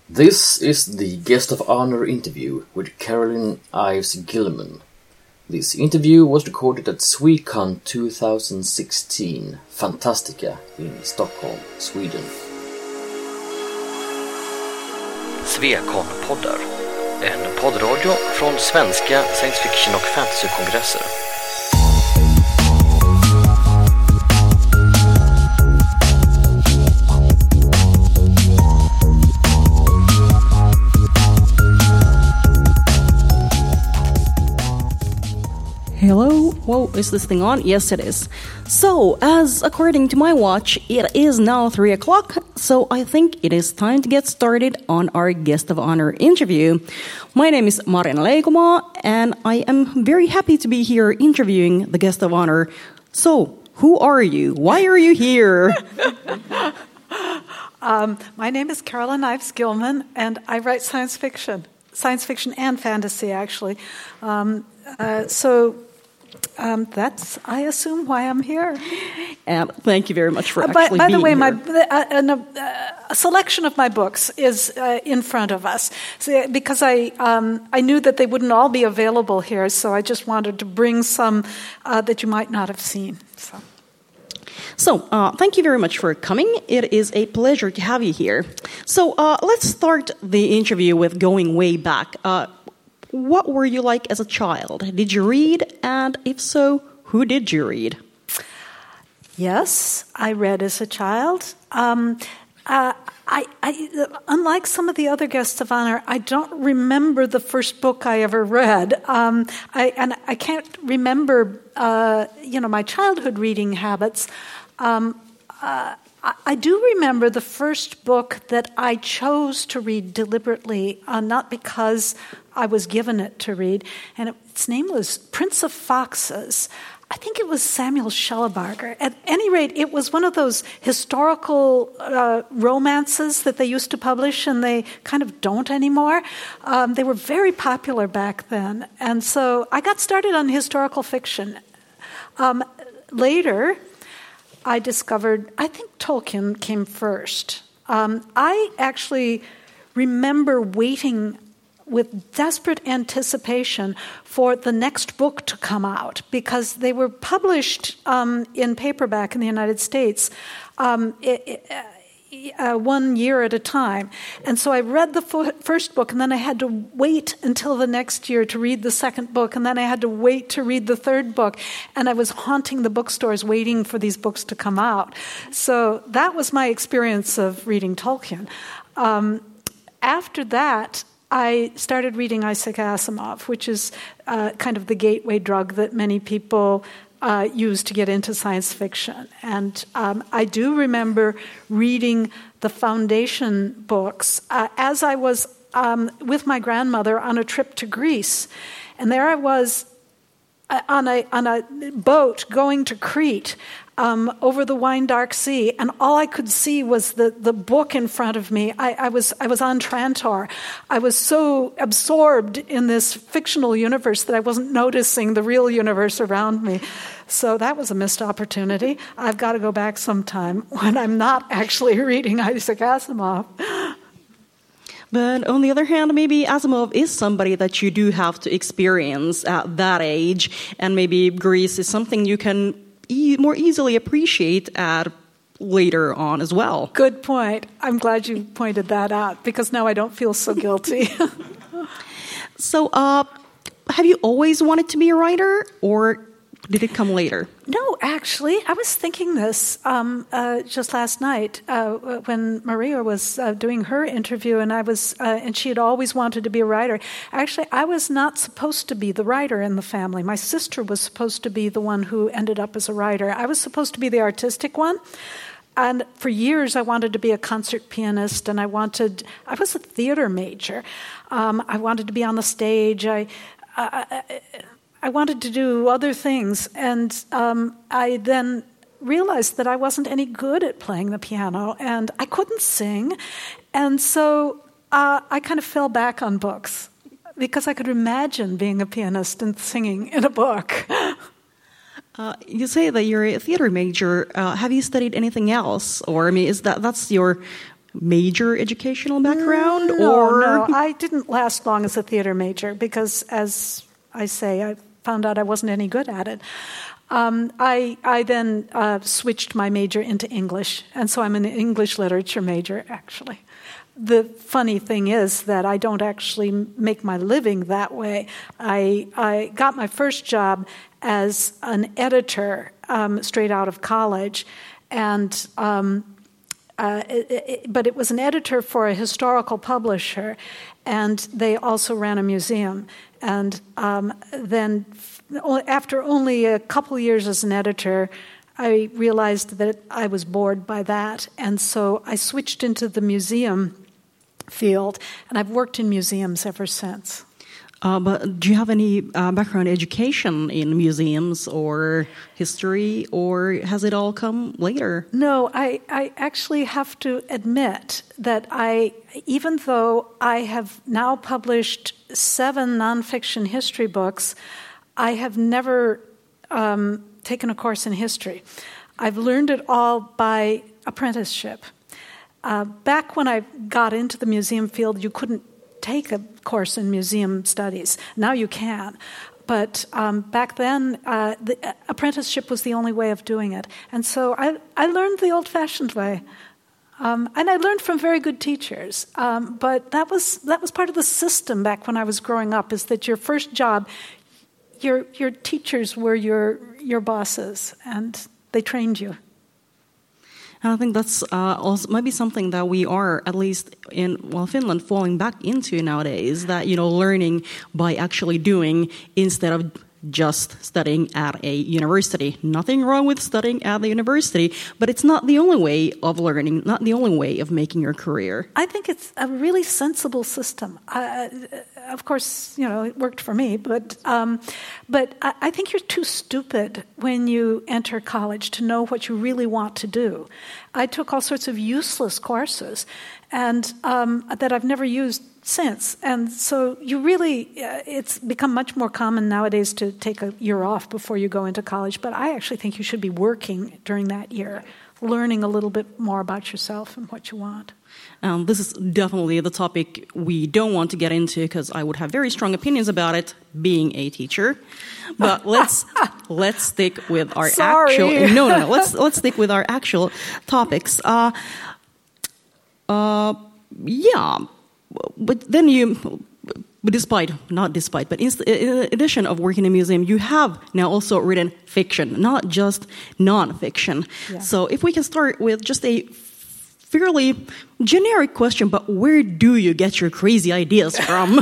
This is the Guest of Honor interview with Caroline Ives Gilman. This interview was recorded at Swecon 2016, Fantastica in Stockholm, Sweden. Swecon-poddar, en poddradio från svenska science fiction- och fantasy-kongresser. Hello? Whoa, is this thing on? Yes, it is. So, as according to my watch, it is now 3 o'clock, so I think it is time to get started on our Guest of Honor interview. My name is Marina Leikoma, and I am very happy to be here interviewing the Guest of Honor. So, who are you? Why are you here? My name is Caroline Ives Gilman, and I write science fiction and fantasy, actually. That's, I assume, why I'm here. And thank you very much for actually being here. By the way, a selection of my books is in front of us, because I knew that they wouldn't all be available here, so I just wanted to bring some that you might not have seen. So, thank you very much for coming. It is a pleasure to have you here. So, let's start the interview with going way back. What were you like as a child? Did you read? And if so, who did you read? Yes, I read as a child. Unlike some of the other guests of honor, I don't remember the first book I ever read. I can't remember, my childhood reading habits. I do remember the first book that I chose to read deliberately, not because I was given it to read, and its name was Prince of Foxes. I think it was Samuel Shellabarger. At any rate, it was one of those historical romances that they used to publish, and they kind of don't anymore. They were very popular back then, and so I got started on historical fiction. Later, I discovered, I think Tolkien came first. I actually remember waiting with desperate anticipation for the next book to come out, because they were published in paperback in the United States 1 year at a time. And so I read the first book, and then I had to wait until the next year to read the second book, and then I had to wait to read the third book. And I was haunting the bookstores waiting for these books to come out. So that was my experience of reading Tolkien. After that, I started reading Isaac Asimov, which is kind of the gateway drug that many people use to get into science fiction. And I do remember reading the foundation books as I was with my grandmother on a trip to Greece. And there I was on a boat going to Crete over the wine-dark sea, and all I could see was the book in front of me. I was on Trantor. I was so absorbed in this fictional universe that I wasn't noticing the real universe around me. So that was a missed opportunity. I've got to go back sometime when I'm not actually reading Isaac Asimov. But on the other hand, maybe Asimov is somebody that you do have to experience at that age, and maybe Greece is something you can more easily appreciate at later on as well. Good point. I'm glad you pointed that out, because now I don't feel so guilty. So, have you always wanted to be a writer, or did it come later? No, actually, I was thinking this just last night when Maria was doing her interview, and she had always wanted to be a writer. Actually, I was not supposed to be the writer in the family. My sister was supposed to be the one who ended up as a writer. I was supposed to be the artistic one. And for years, I wanted to be a concert pianist, and I was a theater major. I wanted to be on the stage. I wanted to do other things, and I then realized that I wasn't any good at playing the piano, and I couldn't sing, and so I kind of fell back on books, because I could imagine being a pianist and singing in a book. You say that you're a theater major. Have you studied anything else, or I mean, that's your major educational background? No, I didn't last long as a theater major because, as I say, I found out I wasn't any good at it. I then switched my major into English, and so I'm an English literature major, actually. The funny thing is that I don't actually make my living that way. I got my first job as an editor straight out of college, and but it was an editor for a historical publisher, and they also ran a museum. And then after only a couple years as an editor, I realized that I was bored by that, and so I switched into the museum field, and I've worked in museums ever since. But do you have any background education in museums or history, or has it all come later? No, I actually have to admit that even though I have now published 7 nonfiction history books, I have never taken a course in history. I've learned it all by apprenticeship. Back when I got into the museum field, you couldn't take a course in museum studies. Now you can. But back then, the apprenticeship was the only way of doing it. And so I learned the old-fashioned way. And I learned from very good teachers. But that was part of the system back when I was growing up, is that your first job, your teachers were your bosses, and they trained you. And I think that's also maybe something that we are, at least in Finland, falling back into nowadays, that, learning by actually doing instead of just studying at a university. Nothing wrong with studying at the university, but it's not the only way of learning, not the only way of making your career. I think it's a really sensible system. Of course, it worked for me, but I think you're too stupid when you enter college to know what you really want to do. I took all sorts of useless courses, and that I've never used since. And so it's become much more common nowadays to take a year off before you go into college, but I actually think you should be working during that year, learning a little bit more about yourself and what you want. This is definitely the topic we don't want to get into, because I would have very strong opinions about it, being a teacher. But let's stick with our actual. No. Let's stick with our actual topics. Yeah, but then in addition of working in a museum, you have now also written fiction, not just non-fiction. Yeah. So if we can start with just a fairly generic question, but where do you get your crazy ideas from?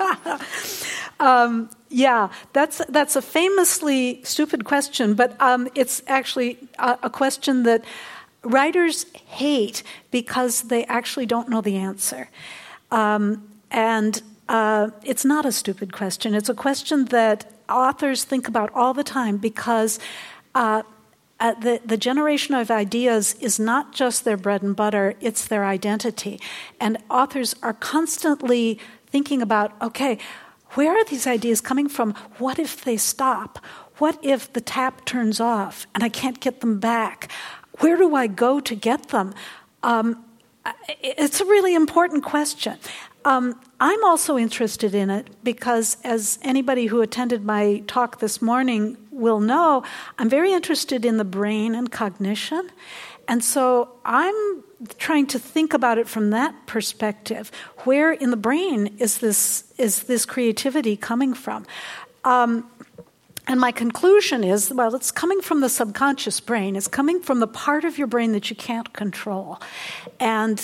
Yeah, that's a famously stupid question, but it's actually a question that writers hate because they actually don't know the answer. And it's not a stupid question. It's a question that authors think about all the time, because the generation of ideas is not just their bread and butter, it's their identity. And authors are constantly thinking about, okay, where are these ideas coming from? What if they stop? What if the tap turns off and I can't get them back? Where do I go to get them? It's a really important question. I'm also interested in it because, as anybody who attended my talk this morning will know, I'm very interested in the brain and cognition. And so I'm trying to think about it from that perspective. Where in the brain is this creativity coming from? And my conclusion is, well, it's coming from the subconscious brain. It's coming from the part of your brain that you can't control. And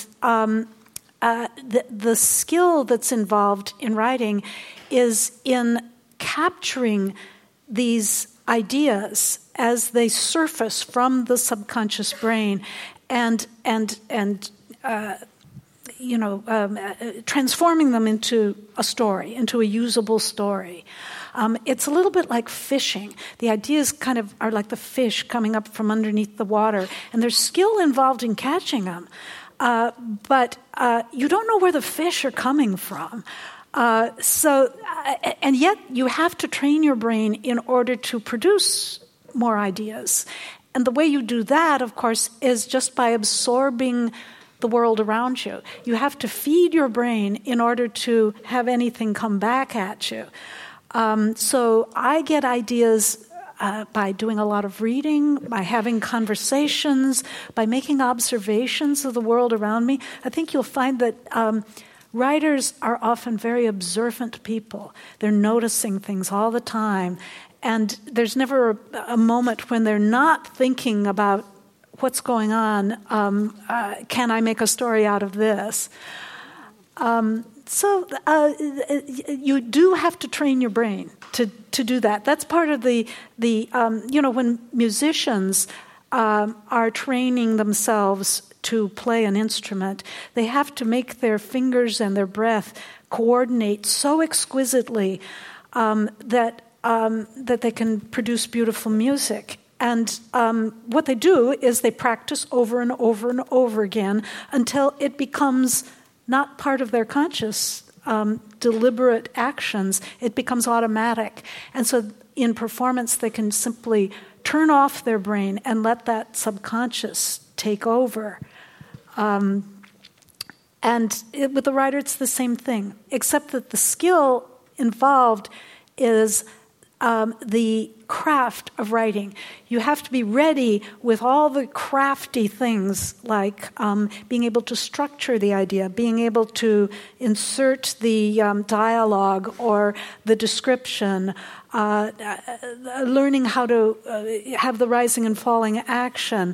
the skill that's involved in writing is in capturing these ideas as they surface from the subconscious brain and transforming them into a story, into a usable story. It's a little bit like fishing. The ideas kind of are like the fish coming up from underneath the water, and there's skill involved in catching them. But you don't know where the fish are coming from. And yet you have to train your brain in order to produce more ideas. And the way you do that, of course, is just by absorbing the world around you. You have to feed your brain in order to have anything come back at you. So I get ideas by doing a lot of reading, by having conversations, by making observations of the world around me. I think you'll find that writers are often very observant people. They're noticing things all the time. And there's never a moment when they're not thinking about what's going on. Can I make a story out of this? So you do have to train your brain to do that. That's part of the when musicians are training themselves to play an instrument, they have to make their fingers and their breath coordinate so exquisitely that they can produce beautiful music. And what they do is they practice over and over and over again until it becomes not part of their conscious, deliberate actions. It becomes automatic. And so in performance, they can simply turn off their brain and let that subconscious take over. With the writer, it's the same thing, except that the skill involved is the craft of writing. You have to be ready with all the crafty things like being able to structure the idea, being able to insert the dialogue or the description, learning how to have the rising and falling action,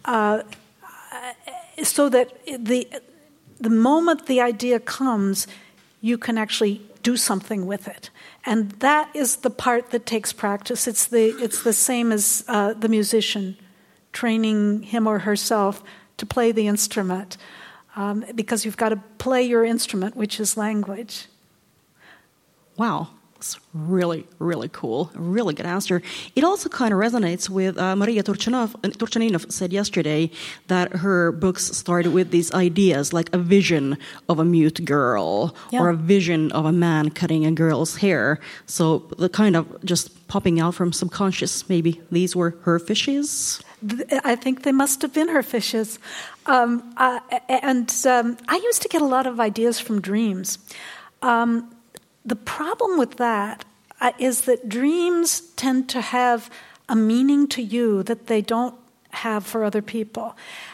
so that the moment the idea comes, you can actually do something with it. And that is the part that takes practice. It's the same as the musician training him or herself to play the instrument, because you've got to play your instrument, which is language. Wow. That's really, really cool. A really good answer. It also kind of resonates with Maria Turchaninov said yesterday that her books started with these ideas, like a vision of a mute girl or a vision of a man cutting a girl's hair. So the kind of just popping out from subconscious, maybe these were her fishes? I think they must have been her fishes. I used to get a lot of ideas from dreams. The problem with that is that dreams tend to have a meaning to you that they don't have for other people.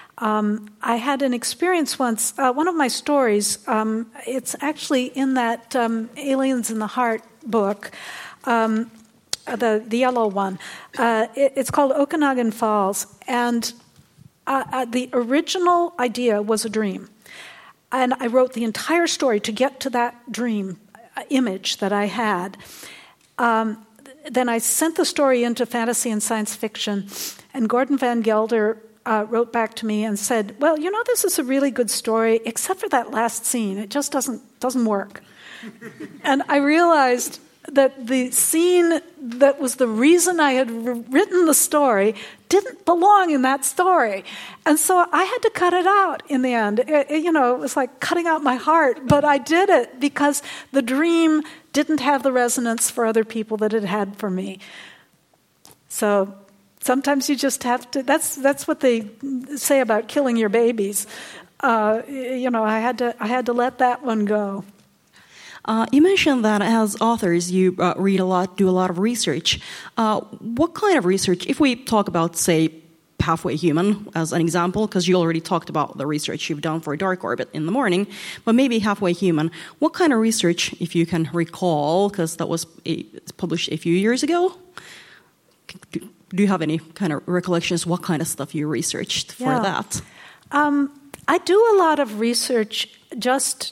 I had an experience once, one of my stories, it's actually in that Aliens in the Heart book, the yellow one. It's called Okanagan Falls, and the original idea was a dream. And I wrote the entire story to get to that dream image that I had. Then I sent the story into fantasy and science fiction, and Gordon Van Gelder wrote back to me and said, well, this is a really good story, except for that last scene. It just doesn't work. And I realized that the scene that was the reason I had written the story didn't belong in that story. And so I had to cut it out in the end. It was like cutting out my heart, but I did it because the dream didn't have the resonance for other people that it had for me. So sometimes you just have to, that's what they say about killing your babies. I had to let that one go. You mentioned that as authors, you read a lot, do a lot of research. What kind of research, if we talk about, say, Halfway Human as an example, because you already talked about the research you've done for Dark Orbit in the morning, but maybe Halfway Human, what kind of research, if you can recall, because that was published a few years ago, do you have any kind of recollections, what kind of stuff you researched for that? I do a lot of research just...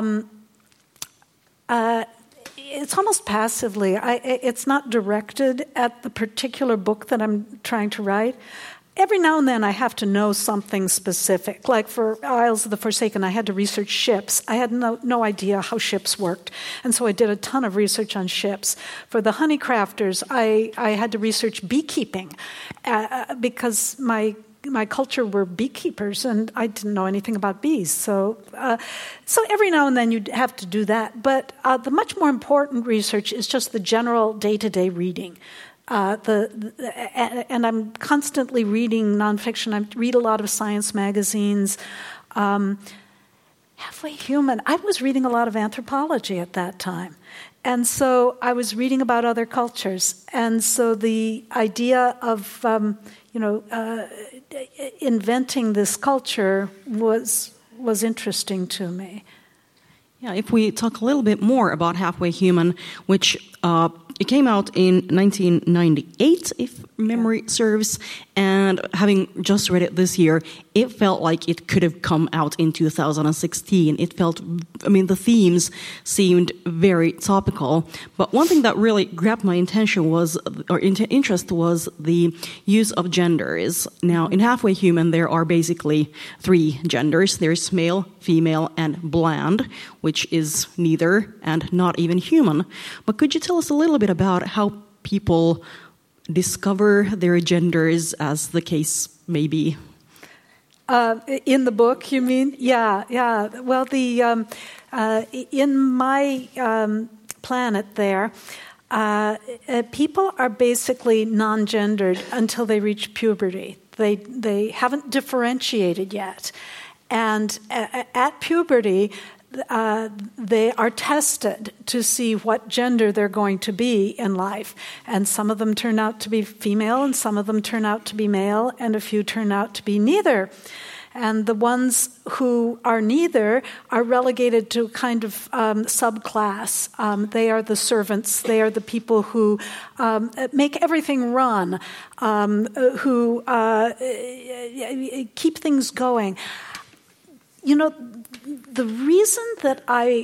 it's almost passively. It's not directed at the particular book that I'm trying to write. Every now and then I have to know something specific. Like for Isles of the Forsaken, I had to research ships. I had no idea how ships worked. And so I did a ton of research on ships. For the Honeycrafters, I had to research beekeeping because my culture were beekeepers, and I didn't know anything about bees. So every now and then you have to do that. But the much more important research is just the general day-to-day reading. And I'm constantly reading nonfiction. I read a lot of science magazines. Halfway Human. I was reading a lot of anthropology at that time. And so I was reading about other cultures. And so the idea of, inventing this culture was interesting to me. Yeah, if we talk a little bit more about Halfway Human, which it came out in 1998, if memory serves, and having just read it this year, it felt like it could have come out in 2016. It felt, the themes seemed very topical, but one thing that really grabbed my attention interest was the use of genders. Now, in Halfway Human, there are basically 3 genders. There's male, female, and bland, which is neither and not even human. But could you tell us a little bit about how people discover their genders, as the case may be? In the book, you mean? Yeah. Well, in my planet there, people are basically non-gendered until they reach puberty. They haven't differentiated yet. And at puberty, they are tested to see what gender they're going to be in life. And some of them turn out to be female, and some of them turn out to be male, and a few turn out to be neither. And the ones who are neither are relegated to a kind of subclass. They are the servants. They are the people who make everything run, who keep things going. The reason that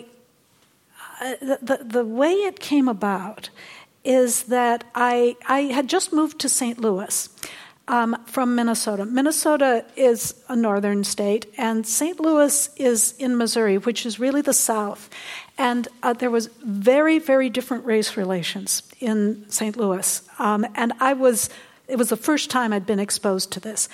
the way it came about is that I had just moved to St. Louis from Minnesota. Minnesota is a northern state, and St. Louis is in Missouri, which is really the South. And there was very, very different race relations in St. Louis. And it was the first time I'd been exposed to this.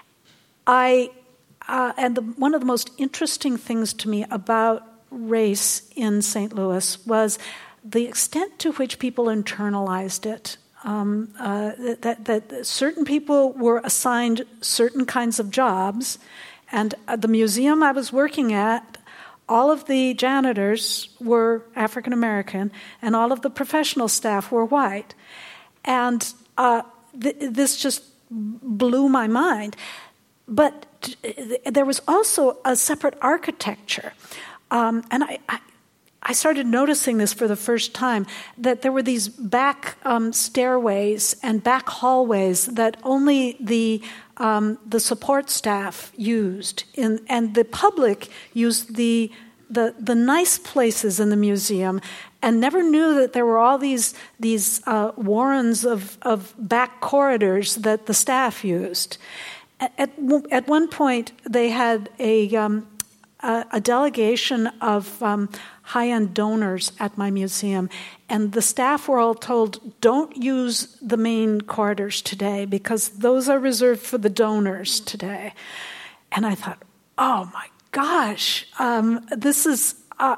One of the most interesting things to me about race in St. Louis was the extent to which people internalized it. That certain people were assigned certain kinds of jobs, and at the museum I was working at, all of the janitors were African American, and all of the professional staff were white. And this just blew my mind. But there was also a separate architecture. And I started noticing this for the first time, that there were these back stairways and back hallways that only the support staff used, and the public used the nice places in the museum, and never knew that there were all these warrens of back corridors that the staff used. At one point, they had a delegation of high-end donors at my museum, and the staff were all told, don't use the main corridors today because those are reserved for the donors today. And I thought, oh my gosh, this is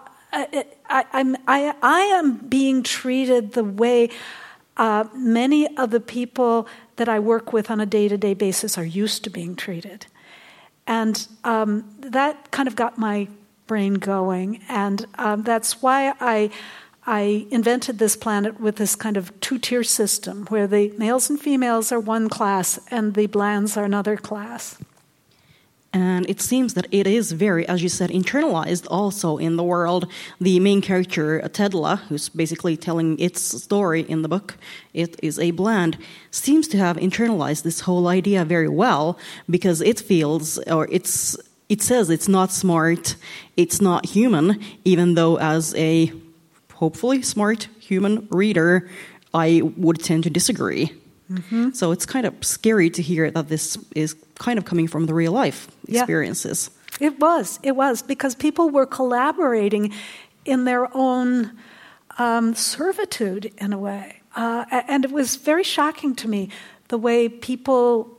I am being treated the way many of the people that I work with on a day-to-day basis are used to being treated. And that kind of got my brain going. And that's why I invented this planet with this kind of 2-tier system where the males and females are one class and the blands are another class. And it seems that it is very, as you said, internalized also in the world. The main character, Tedla, who's basically telling its story in the book, it is a bland, seems to have internalized this whole idea very well, because it feels, or it says it's not smart, it's not human, even though as a hopefully smart human reader, I would tend to disagree. Mm-hmm. So it's kind of scary to hear that this is kind of coming from the real life experiences. Yeah. It was, because people were collaborating in their own servitude in a way. And it was very shocking to me the way people,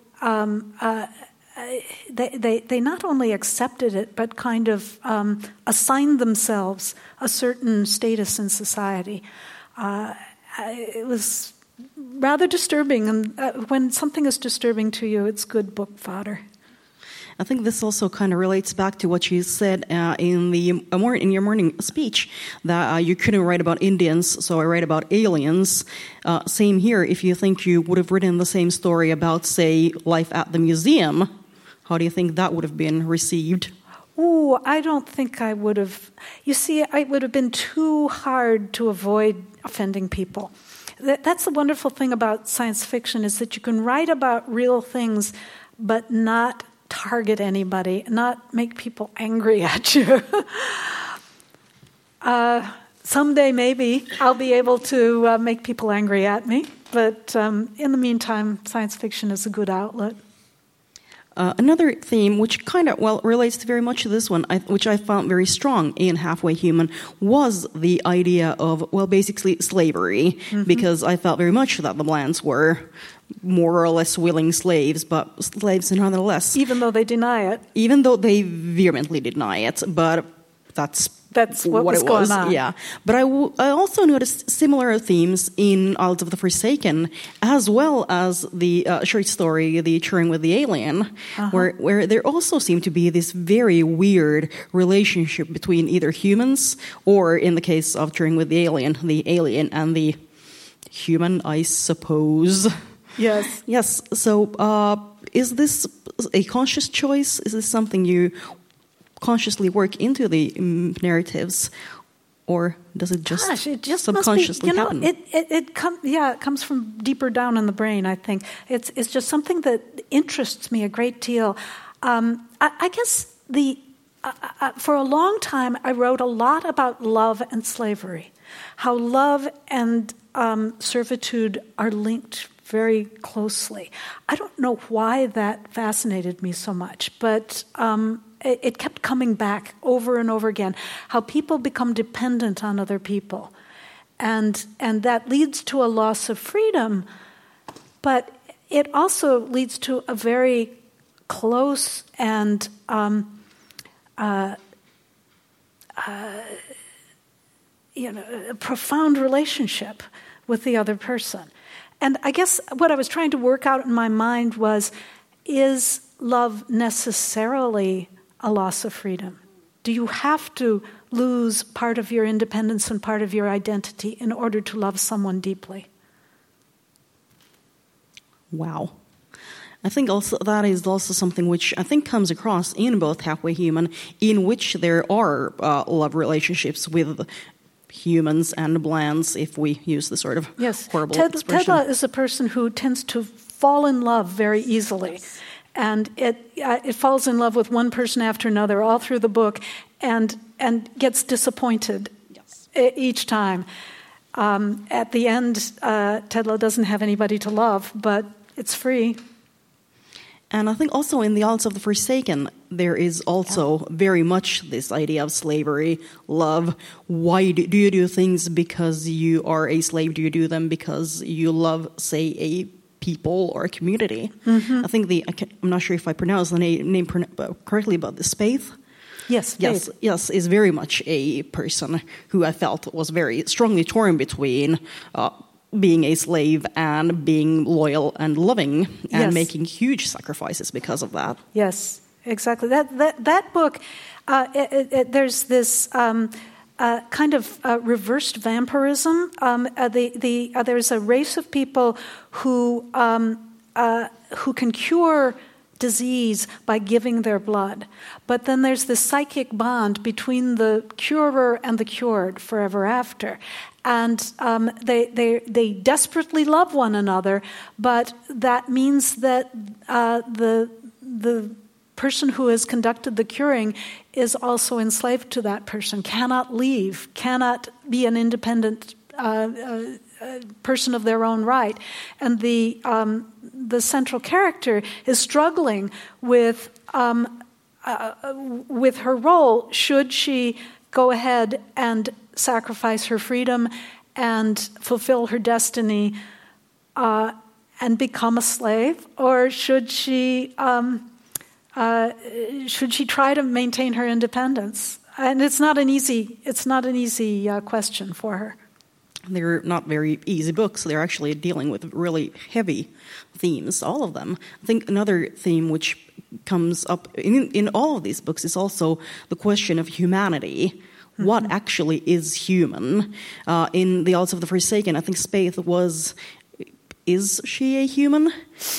they not only accepted it, but kind of assigned themselves a certain status in society. It was rather disturbing, and when something is disturbing to you, it's good book fodder. I think this also kind of relates back to what you said in your morning speech, that you couldn't write about Indians, so I write about aliens. Same here. If you think you would have written the same story about, say, life at the museum, how do you think that would have been received? Oh, I don't think I would have. You see, it would have been too hard to avoid offending people. That's the wonderful thing about science fiction, is that you can write about real things but not target anybody, not make people angry at you. Someday maybe I'll be able to make people angry at me, but in the meantime, science fiction is a good outlet. Another theme, which kind of, relates very much to this one, which I found very strong in Halfway Human, was the idea of, basically slavery, because I felt very much that the Blands were more or less willing slaves, but slaves nonetheless. Even though they deny it. Even though they vehemently deny it, but that's what was going on. Yeah, but I also noticed similar themes in Isles of the Forsaken, as well as the short story, The Turing with the Alien, where there also seemed to be this very weird relationship between either humans, or in the case of Turing with the alien and the human, I suppose. Yes. Yes. So, is this a conscious choice? Is this something you consciously work into the narratives, or does it just subconsciously happen? It comes from deeper down in the brain. I think it's just something that interests me a great deal. I guess for a long time I wrote a lot about love and slavery, how love and servitude are linked very closely. I don't know why that fascinated me so much, but it kept coming back over and over again, how people become dependent on other people. And that leads to a loss of freedom, but it also leads to a very close and a profound relationship with the other person. And I guess what I was trying to work out in my mind was, is love necessarily a loss of freedom? Do you have to lose part of your independence and part of your identity in order to love someone deeply? Wow. I think also that is also something which I think comes across in both Halfway Human, in which there are love relationships with humans and Blands, if we use the sort of horrible expression. Tedla is a person who tends to fall in love very easily. Yes. And it falls in love with one person after another all through the book, and gets disappointed each time. At the end, Tedla doesn't have anybody to love, but it's free. And I think also in the Isles of the Forsaken, there is also very much this idea of slavery, love. Why do you do things because you are a slave? Do you do them because you love, say, a people or a community? I think I'm not sure if I pronounce the name correctly, but the Spaeth. Yes, is very much a person who I felt was very strongly torn between being a slave and being loyal and loving, and making huge sacrifices because of that. Yes, exactly. That book, there's this kind of reversed vampirism. There's a race of people who can cure disease by giving their blood. But then there's this psychic bond between the curer and the cured forever after. And they desperately love one another, but that means that the person who has conducted the curing is also enslaved to that person, cannot leave, cannot be an independent person of their own right. And the central character is struggling with her role. Should she go ahead and sacrifice her freedom and fulfill her destiny and become a slave, or should she try to maintain her independence? And it's not an easy question for her. they're not very easy books. They're actually dealing with really heavy themes, all of them. I think another theme which comes up in all of these books is also the question of humanity. What actually is human? In The Isles of the Forsaken, I think Spaeth is she a human?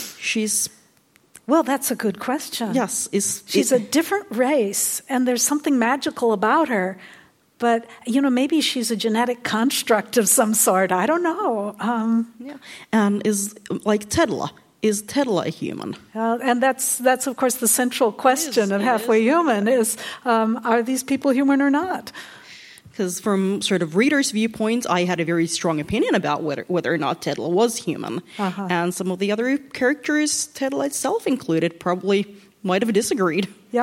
Well, that's a good question. Yes. She's a different race, and there's something magical about her. But, maybe she's a genetic construct of some sort. I don't know. And is, like Tedla, is Tedla a human? And that's of course, the central question of Halfway Human is, are these people human or not? Because from sort of readers' viewpoints, I had a very strong opinion about whether or not Tedla was human. And some of the other characters, Tedla itself included, probably might have disagreed. Yep.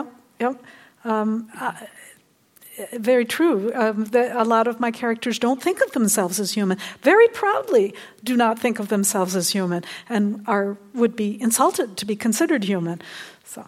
Very true. A lot of my characters don't think of themselves as human. Very proudly do not think of themselves as human and would be insulted to be considered human. So.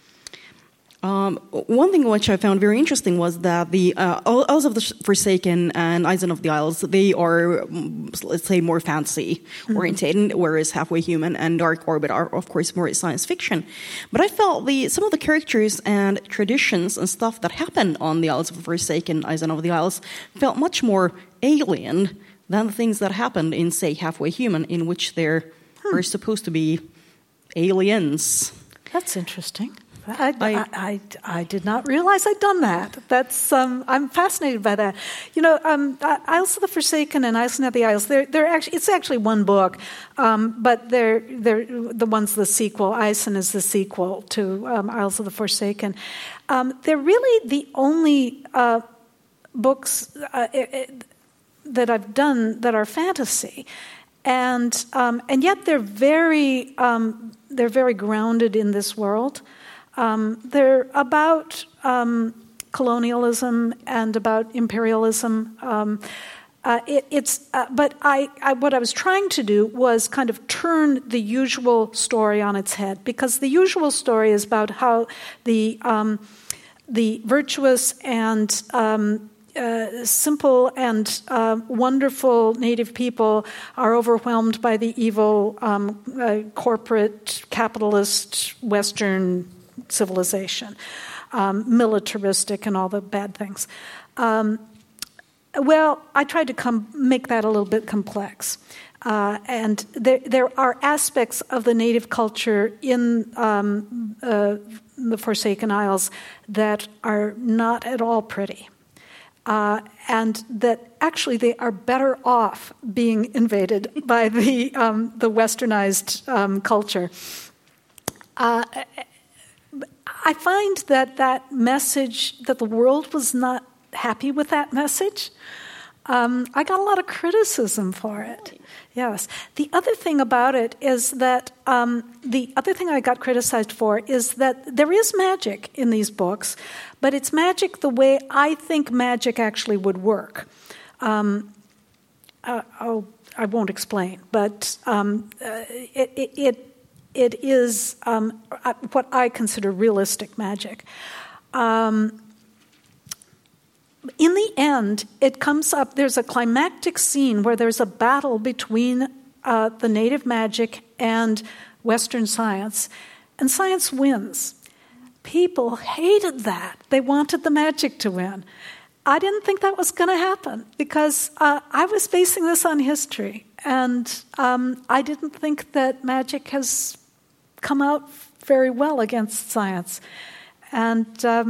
One thing which I found very interesting was that the Isles of the Forsaken and Eisen of the Isles, they are, let's say, more fantasy-oriented, whereas Halfway Human and Dark Orbit are, of course, more science fiction. But I felt some of the characters and traditions and stuff that happened on the Isles of the Forsaken, Eisen of the Isles, felt much more alien than the things that happened in, say, Halfway Human, in which there are supposed to be aliens. That's interesting. I did not realize I'd done that. That's I'm fascinated by that. Isles of the Forsaken and Eisen of the Isles. It's actually one book, but they're the one's the sequel. Eisen is the sequel to Isles of the Forsaken. They're really the only books that I've done that are fantasy, and yet they're very grounded in this world. They're about colonialism and about imperialism. But what I was trying to do was kind of turn the usual story on its head, because the usual story is about how the virtuous and simple and wonderful native people are overwhelmed by the evil corporate capitalist Western civilization, militaristic and all the bad things. Well, I tried to make that a little bit complex. And there are aspects of the native culture in the Forsaken Isles that are not at all pretty. And that actually they are better off being invaded by the westernized culture. I find that message, that the world was not happy with that message. I got a lot of criticism for it. Yes. The other thing about it is that the other thing I got criticized for is that there is magic in these books, but it's magic the way I think magic actually would work. I won't explain, but it is what I consider realistic magic. In the end, it comes up, there's a climactic scene where there's a battle between the native magic and Western science, and science wins. People hated that. They wanted the magic to win. I didn't think that was going to happen because I was basing this on history, and I didn't think that magic has come out very well against science. And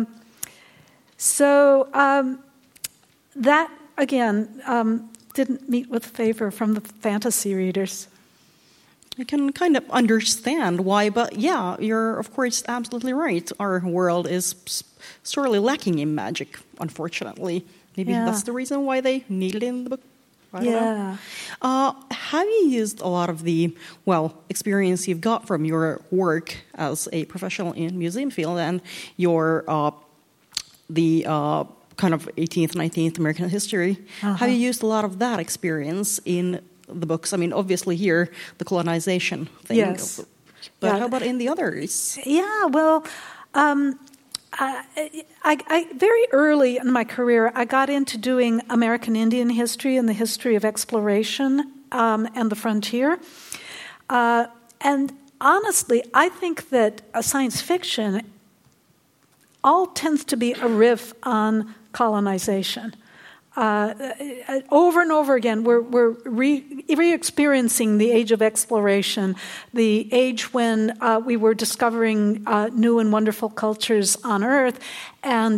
so that, again, didn't meet with favor from the fantasy readers. I can kind of understand why, but yeah, you're, of course, absolutely right. Our world is sorely lacking in magic, unfortunately. Maybe that's the reason why they need it in the book. I don't know. Have you used a lot of the, experience you've got from your work as a professional in museum field and your, the kind of 18th, 19th American history? Have you used a lot of that experience in the books? I mean, obviously here, the colonization thing. Yes. But how about in the others? Yeah, well, I very early in my career, I got into doing American Indian history and the history of exploration and the frontier. And honestly, I think that science fiction all tends to be a riff on colonization. Over and over again, we're re-experiencing the age of exploration, the age when we were discovering new and wonderful cultures on Earth, and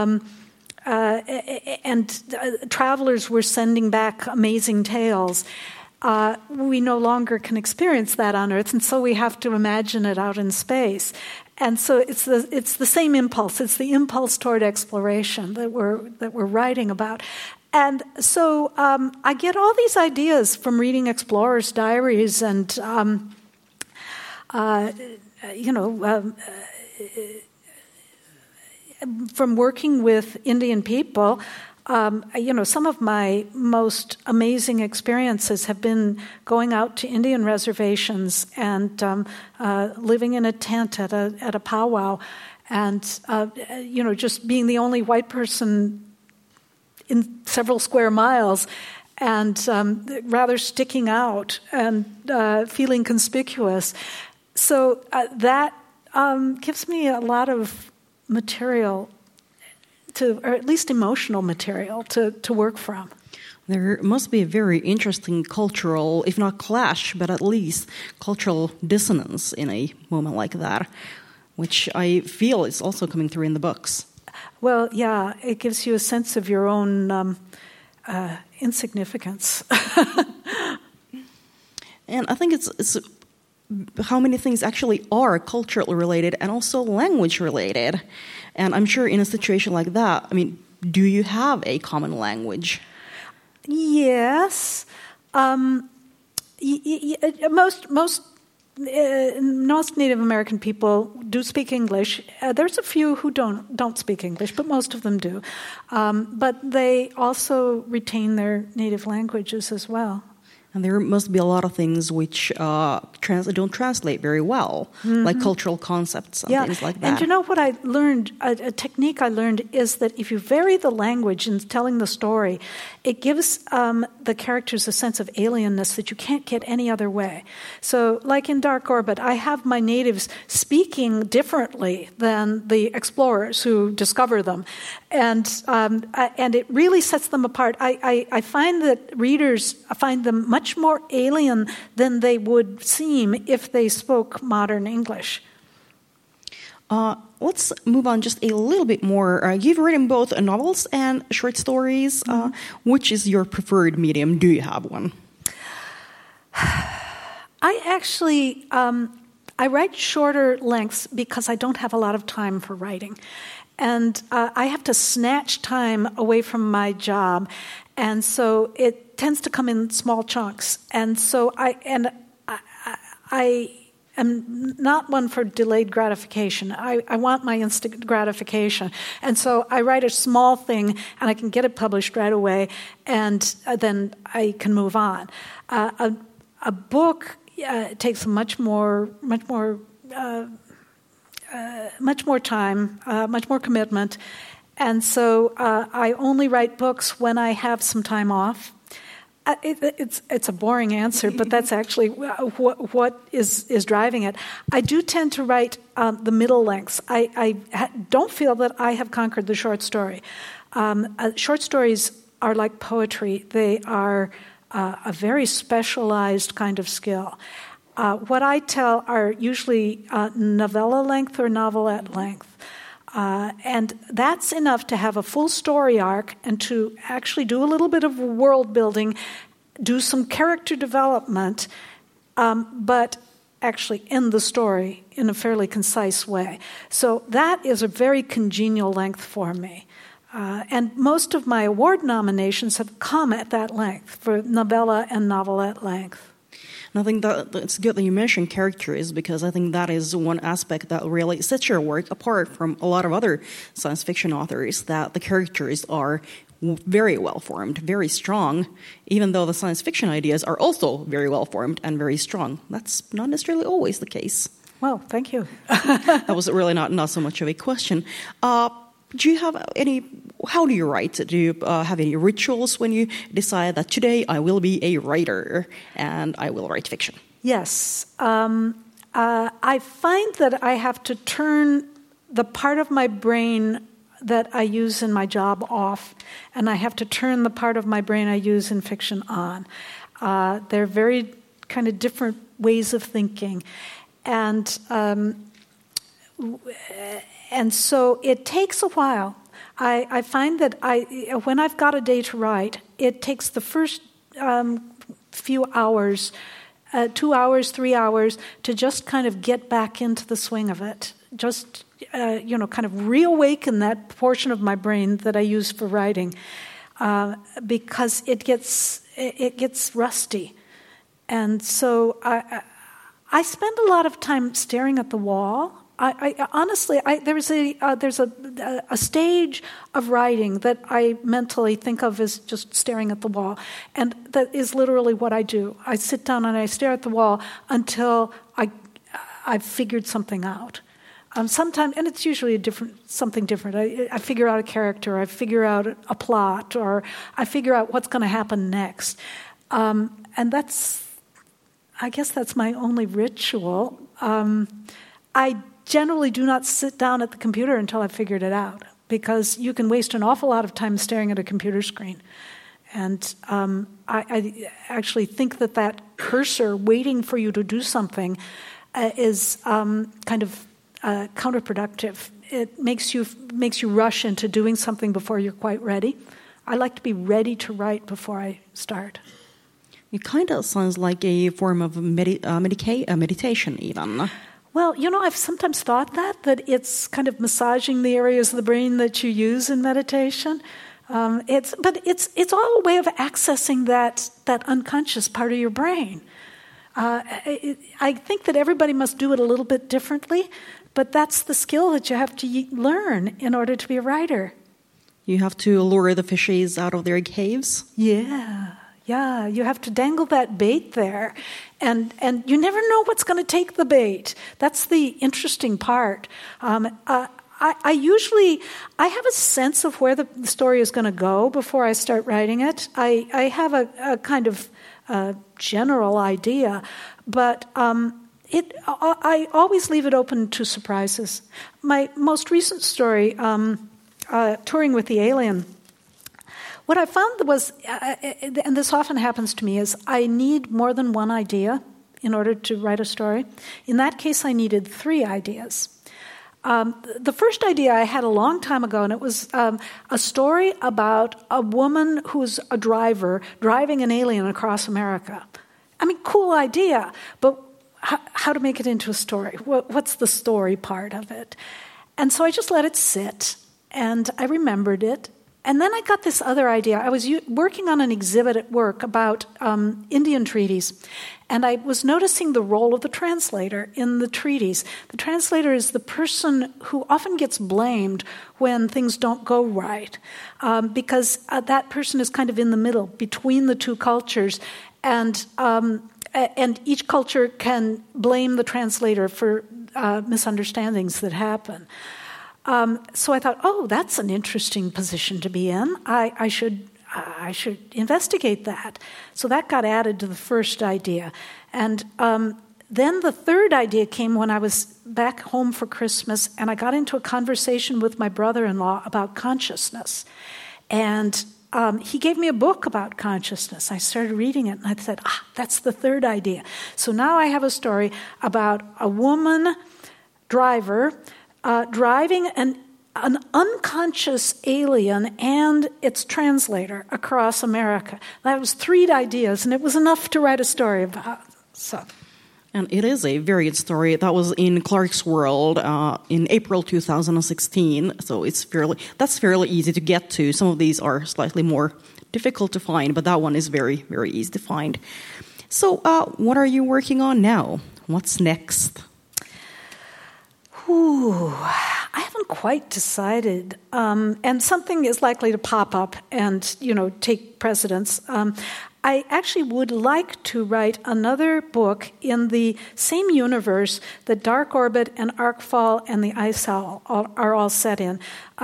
travelers were sending back amazing tales. We no longer can experience that on Earth, and so we have to imagine it out in space. And so it's the same impulse. It's the impulse toward exploration that we're writing about. And so I get all these ideas from reading explorers' diaries and from working with Indian people. Some of my most amazing experiences have been going out to Indian reservations and living in a tent at a powwow, and just being the only white person in several square miles, and rather sticking out and feeling conspicuous. So that gives me a lot of material, or at least emotional material, to work from. There must be a very interesting cultural, if not clash, but at least cultural dissonance in a moment like that, which I feel is also coming through in the books. Well, yeah, it gives you a sense of your own insignificance. And I think it's how many things actually are culturally related and also language related. And I'm sure in a situation like that, do you have a common language? Yes. Most Native American people do speak English. There's a few who don't speak English, but most of them do. But they also retain their native languages as well. And there must be a lot of things which don't translate very well, like cultural concepts and things like that. And you know what I learned, a technique I learned is that if you vary the language in telling the story, it gives the characters a sense of alienness that you can't get any other way. So like in Dark Orbit, I have my natives speaking differently than the explorers who discover them. And it really sets them apart. I find that readers find them much more alien than they would seem if they spoke modern English. Let's move on just a little bit more. You've written both novels and short stories. Which is your preferred medium? Do you have one? I actually I write shorter lengths because I don't have a lot of time for writing. And I have to snatch time away from my job. And so it tends to come in small chunks. And so I am not one for delayed gratification. I want my instant gratification. And so I write a small thing, and I can get it published right away, and then I can move on. A book takes much more time, much more commitment. And so I only write books when I have some time off. It's a boring answer, but that's actually what is driving it. I do tend to write the middle lengths. I don't feel that I have conquered the short story. Short stories are like poetry. They are a very specialized kind of skill. What I tell are usually novella length or novelette length. And that's enough to have a full story arc and to actually do a little bit of world building, do some character development, but actually end the story in a fairly concise way. So that is a very congenial length for me. And most of my award nominations have come at that length, for novella and novelette length. And I think that it's good that you mentioned characters, because I think that is one aspect that really sets your work apart from a lot of other science fiction authors, that the characters are very well formed, very strong, even though the science fiction ideas are also very well formed and very strong. That's not necessarily always the case. Well, thank you. That was really not so much of a question. Do you have how do you write? Do you have any rituals when you decide that today I will be a writer and I will write fiction? Yes. I find that I have to turn the part of my brain that I use in my job off, and I have to turn the part of my brain I use in fiction on. They're very kind of different ways of thinking. And so it takes a while. I find that when I've got a day to write, it takes the first few hours, 2 hours, 3 hours, to just kind of get back into the swing of it. Just, kind of reawaken that portion of my brain that I use for writing, because it gets rusty. And so I spend a lot of time staring at the wall. Honestly, there's a stage of writing that I mentally think of as just staring at the wall, and that is literally what I do. I sit down and I stare at the wall until I've figured something out. Sometimes, and it's usually something different. I figure out a character, I figure out a plot, or I figure out what's going to happen next, and I guess that's my only ritual. I generally do not sit down at the computer until I've figured it out, because you can waste an awful lot of time staring at a computer screen. And I actually think that cursor waiting for you to do something is kind of counterproductive. It makes you rush into doing something before you're quite ready. I like to be ready to write before I start. It kind of sounds like a form of meditation even. Well, I've sometimes thought that it's kind of massaging the areas of the brain that you use in meditation. It's all a way of accessing that unconscious part of your brain. I think that everybody must do it a little bit differently, but that's the skill that you have to learn in order to be a writer. You have to lure the fishes out of their caves? Yeah, you have to dangle that bait there, and you never know what's going to take the bait. That's the interesting part. I have a sense of where the story is going to go before I start writing it. I have a kind of general idea, but I always leave it open to surprises. My most recent story, Touring with the Alien, what I found was, and this often happens to me, is I need more than one idea in order to write a story. In that case, I needed 3 ideas. The first idea I had a long time ago, and it was a story about a woman who's a driver driving an alien across America. I mean, cool idea, but how to make it into a story? What's the story part of it? And so I just let it sit, and I remembered it. And then I got this other idea. I was working on an exhibit at work about Indian treaties, and I was noticing the role of the translator in the treaties. The translator is the person who often gets blamed when things don't go right, because that person is kind of in the middle between the two cultures, and each culture can blame the translator for misunderstandings that happen. So I thought, that's an interesting position to be in. I should investigate that. So that got added to the first idea. And then the third idea came when I was back home for Christmas, and I got into a conversation with my brother-in-law about consciousness. And he gave me a book about consciousness. I started reading it, and I said, that's the third idea. So now I have a story about a woman driver driving an unconscious alien and its translator across America. That was 3 ideas, and it was enough to write a story about. So, and it is a very good story. That was in Clarkesworld in April 2016. So that's fairly easy to get to. Some of these are slightly more difficult to find, but that one is very, very easy to find. So, what are you working on now? What's next? I haven't quite decided, and something is likely to pop up and, take precedence. I actually would like to write another book in the same universe that Dark Orbit and Arcfall and the Ice Owl are all set in.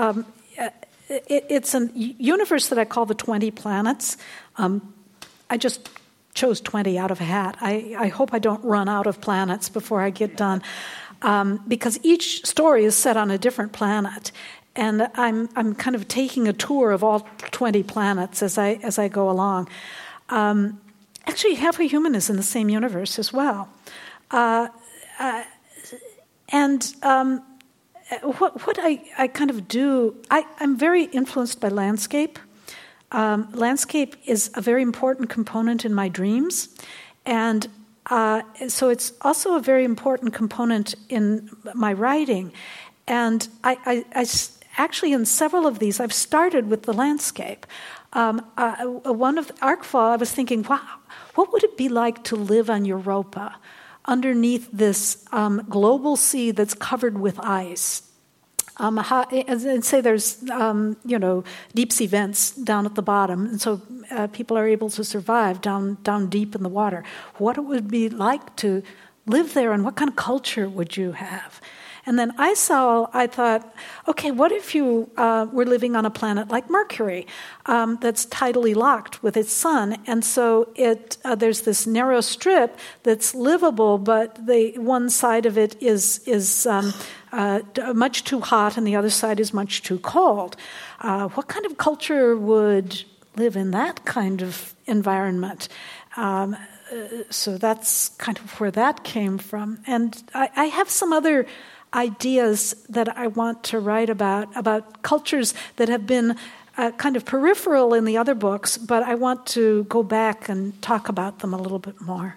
It's a universe that I call the 20 planets. I just chose 20 out of a hat. I hope I don't run out of planets before I get done, because each story is set on a different planet, and I'm kind of taking a tour of all 20 planets as I go along. Actually, Half a Human is in the same universe as well, what I kind of do, I'm very influenced by landscape. Landscape is a very important component in my dreams, and so it's also a very important component in my writing. And I actually, in several of these, I've started with the landscape. One of Arcfall, I was thinking, wow, what would it be like to live on Europa underneath this global sea that's covered with ice? And say there's, deep sea vents down at the bottom, and so people are able to survive down deep in the water. What it would be like to live there, and what kind of culture would you have? And then Ice Owl, I thought, okay, what if you were living on a planet like Mercury that's tidally locked with its sun, and so there's this narrow strip that's livable, but the one side of it is much too hot, and the other side is much too cold. What kind of culture would live in that kind of environment? So that's kind of where that came from. And I have some other ideas that I want to write about cultures that have been kind of peripheral in the other books, but I want to go back and talk about them a little bit more.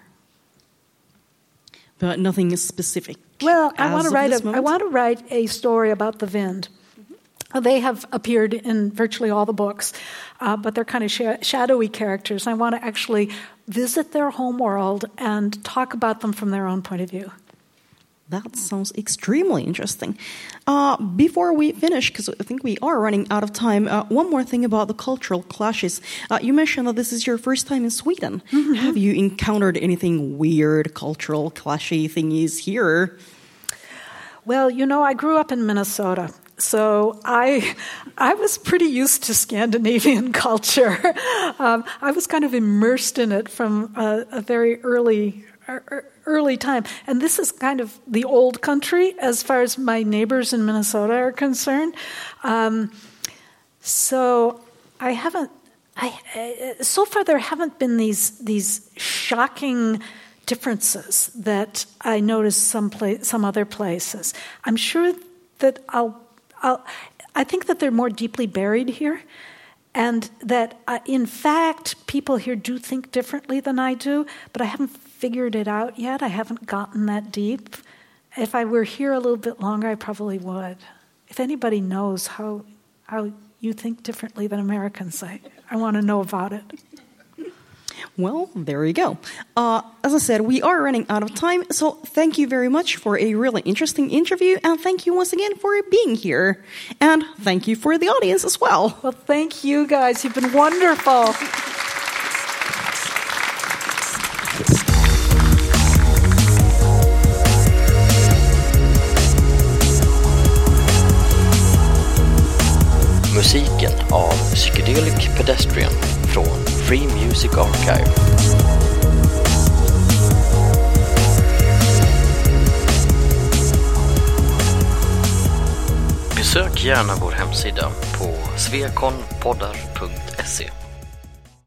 But nothing is specific. Well, I want to write a story about the Vind. Mm-hmm. They have appeared in virtually all the books, but they're kind of shadowy characters. I want to actually visit their home world and talk about them from their own point of view. That sounds extremely interesting. Before we finish, because I think we are running out of time, one more thing about the cultural clashes. You mentioned that this is your first time in Sweden. Mm-hmm. Have you encountered anything weird, cultural, clashy thingies here? Well, I grew up in Minnesota. So I was pretty used to Scandinavian culture. I was kind of immersed in it from a very early time. And this is kind of the old country as far as my neighbors in Minnesota are concerned. So so far there haven't been these shocking differences that I noticed some other places. I'm sure that I think that they're more deeply buried here, and that in fact people here do think differently than I do, but I haven't figured it out yet. I haven't gotten that deep. If I were here a little bit longer, I probably would. If anybody knows how you think differently than Americans, I want to know about it. Well, there you go. As I said, we are running out of time, so thank you very much for a really interesting interview, and thank you once again for being here. And thank you for the audience as well. Well, thank you guys. You've been wonderful. Musiken av Psychedelic Pedestrian från Free Music Archive. Besök gärna vår hemsida på svekonpoddar.se.